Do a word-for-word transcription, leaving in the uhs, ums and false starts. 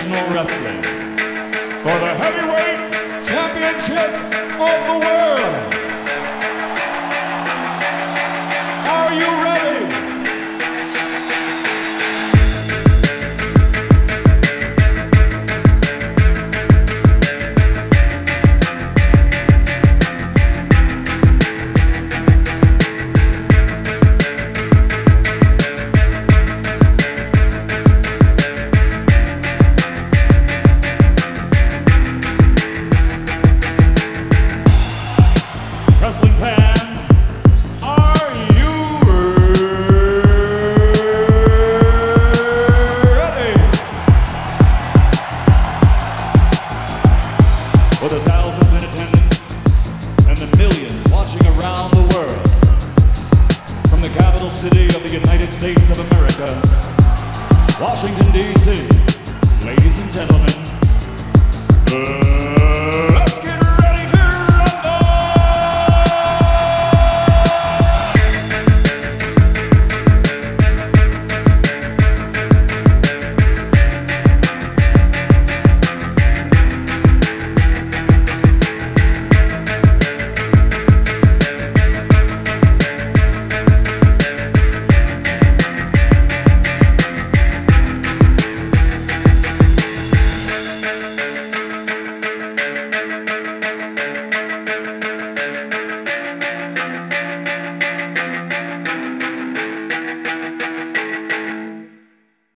Professional Wrestling for the Heavyweight Championship of the World. Are you ready? Wrestling fans, are you ready? For the thousands in attendance and the millions watching around the world, from the capital city of the United States of America, Washington, D C, ladies and gentlemen, the